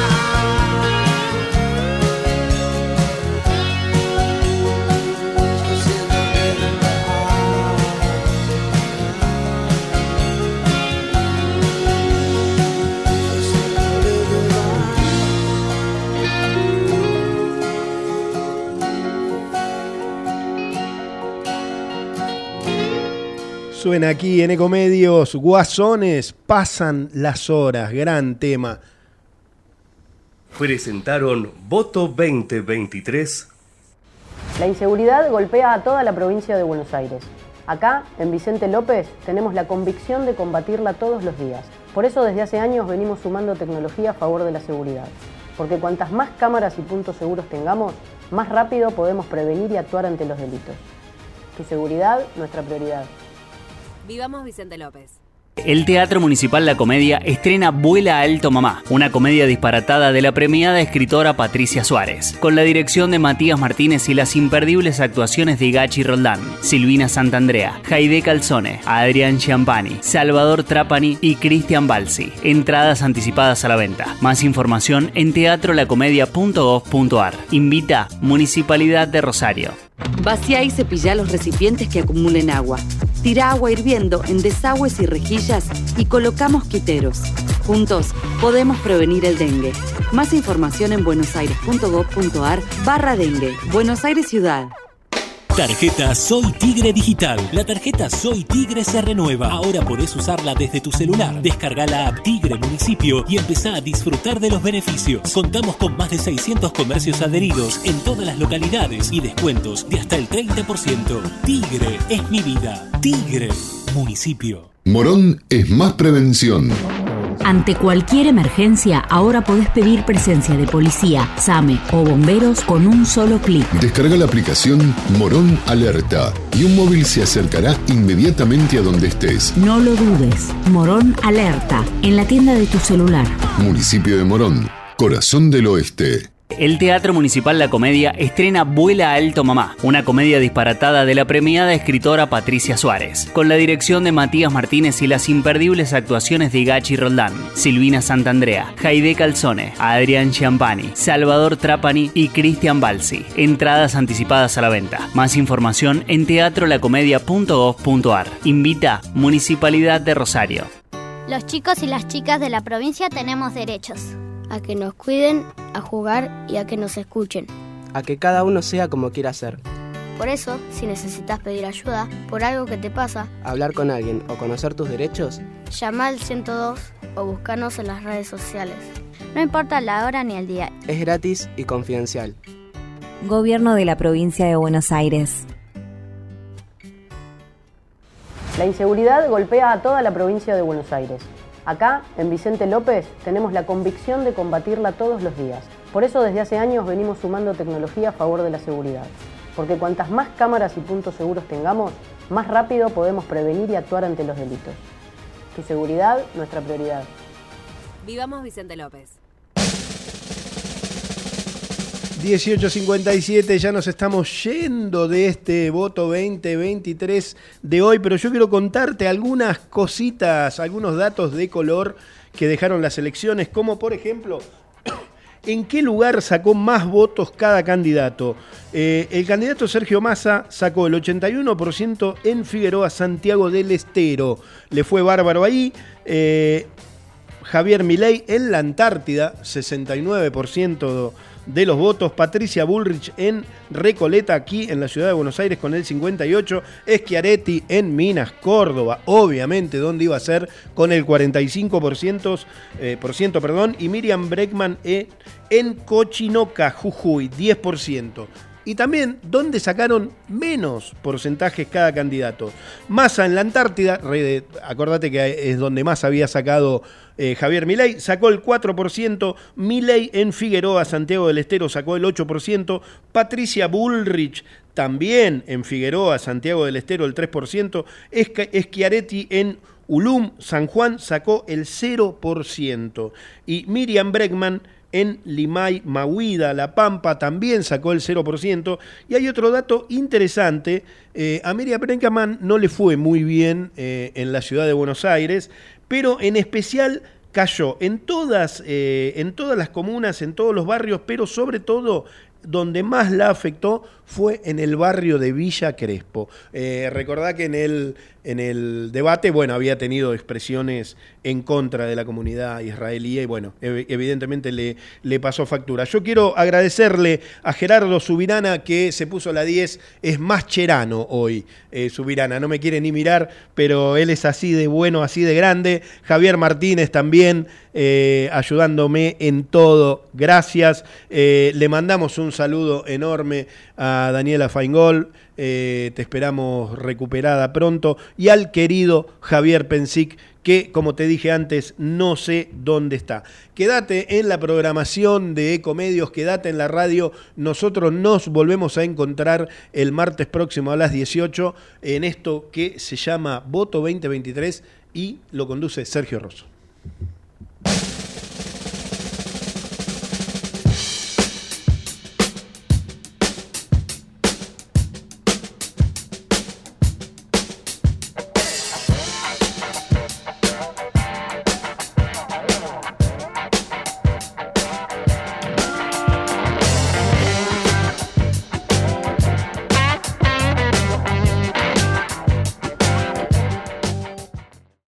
Suena aquí en Ecomedios, Guasones, pasan las horas, gran tema. Presentaron Voto veinte veintitrés. La inseguridad golpea a toda la provincia de Buenos Aires. Acá, en Vicente López, tenemos la convicción de combatirla todos los días. Por eso desde hace años venimos sumando tecnología a favor de la seguridad. Porque cuantas más cámaras y puntos seguros tengamos, más rápido podemos prevenir y actuar ante los delitos. Tu seguridad, nuestra prioridad. Vivamos Vicente López. El Teatro Municipal La Comedia estrena Vuela Alto Mamá, una comedia disparatada de la premiada escritora Patricia Suárez, con la dirección de Matías Martínez y las imperdibles actuaciones de Gachi Roldán, Silvina Santandrea, Jaide Calzone, Adrián Chiampani, Salvador Trapani y Cristian Balsi. Entradas anticipadas a la venta. Más información en teatro la comedia punto gov punto ar. Invita Municipalidad de Rosario. Vacía y cepilla los recipientes que acumulen agua. Tira agua hirviendo en desagües y rejillas y colocamos quiteros. Juntos podemos prevenir el dengue. Más información en buenosaires punto gov punto ar barra dengue. Buenos Aires Ciudad. Tarjeta Soy Tigre Digital. La tarjeta Soy Tigre se renueva. Ahora podés usarla desde tu celular. Descarga la app Tigre Municipio y empezá a disfrutar de los beneficios. Contamos con más de seiscientos comercios adheridos en todas las localidades y descuentos de hasta el treinta por ciento. Tigre es mi vida. Tigre Municipio. Morón es más prevención. Ante cualquier emergencia, ahora podés pedir presencia de policía, SAME o bomberos con un solo clic. Descarga la aplicación Morón Alerta y un móvil se acercará inmediatamente a donde estés. No lo dudes. Morón Alerta, en la tienda de tu celular. Municipio de Morón, corazón del oeste. El Teatro Municipal La Comedia estrena Vuela Alto Mamá, una comedia disparatada de la premiada escritora Patricia Suárez, con la dirección de Matías Martínez y las imperdibles actuaciones de Gachi Roldán, Silvina Santandrea, Jaide Calzone, Adrián Chiampani, Salvador Trapani y Cristian Balsi. Entradas anticipadas a la venta. Más información en teatro la comedia punto gov punto ar. Invita Municipalidad de Rosario. Los chicos y las chicas de la provincia tenemos derechos. A que nos cuiden, a jugar y a que nos escuchen. A que cada uno sea como quiera ser. Por eso, si necesitas pedir ayuda por algo que te pasa, hablar con alguien o conocer tus derechos, llama al ciento dos o búscanos en las redes sociales. No importa la hora ni el día. Es gratis y confidencial. Gobierno de la Provincia de Buenos Aires. La inseguridad golpea a toda la provincia de Buenos Aires. Acá, en Vicente López, tenemos la convicción de combatirla todos los días. Por eso desde hace años venimos sumando tecnología a favor de la seguridad. Porque cuantas más cámaras y puntos seguros tengamos, más rápido podemos prevenir y actuar ante los delitos. Tu seguridad, nuestra prioridad. Vivamos Vicente López. dieciocho cincuenta y siete, ya nos estamos yendo de este voto veinte veintitrés de hoy, pero yo quiero contarte algunas cositas, algunos datos de color que dejaron las elecciones, como por ejemplo, ¿en qué lugar sacó más votos cada candidato? Eh, el candidato Sergio Massa sacó el ochenta y uno por ciento en Figueroa, Santiago del Estero. Le fue bárbaro ahí. Eh, Javier Milei en la Antártida, sesenta y nueve por ciento de los votos. Patricia Bullrich en Recoleta, aquí en la ciudad de Buenos Aires, con el cincuenta y ocho por ciento. Schiaretti en Minas, Córdoba, obviamente, donde iba a ser, con el cuarenta y cinco por ciento, eh, por ciento perdón, y Miriam Bregman en, en Cochinoca, Jujuy, diez por ciento. Y también donde sacaron menos porcentajes cada candidato. Massa en la Antártida, acordate que es donde más había sacado eh, Javier Milei, sacó el cuatro por ciento. Milei en Figueroa, Santiago del Estero, sacó el ocho por ciento. Patricia Bullrich también en Figueroa, Santiago del Estero, el tres por ciento. Schiaretti en Ulum, San Juan, sacó el cero por ciento. Y Miriam Bregman en Limay, Mahuida, La Pampa, también sacó el cero por ciento. Y hay otro dato interesante, eh, a Miriam Bregman no le fue muy bien eh, en la ciudad de Buenos Aires, pero en especial cayó en todas, eh, en todas las comunas, en todos los barrios, pero sobre todo donde más la afectó fue en el barrio de Villa Crespo. Eh, recordá que en el, en el debate, bueno, había tenido expresiones en contra de la comunidad israelí y, bueno, ev- evidentemente le, le pasó factura. Yo quiero agradecerle a Gerardo Subirana, que se puso la diez, es más cherano hoy, eh, Subirana, no me quiere ni mirar, pero él es así de bueno, así de grande. Javier Martínez también, eh, ayudándome en todo, gracias. Eh, le mandamos un saludo enorme a Daniela Faingol, eh, te esperamos recuperada pronto, y al querido Javier Pensic, que, como te dije antes, no sé dónde está. Quédate en la programación de Ecomedios, quédate en la radio. Nosotros nos volvemos a encontrar el martes próximo a las dieciocho en esto que se llama Voto veinte veintitrés y lo conduce Sergio Rosso.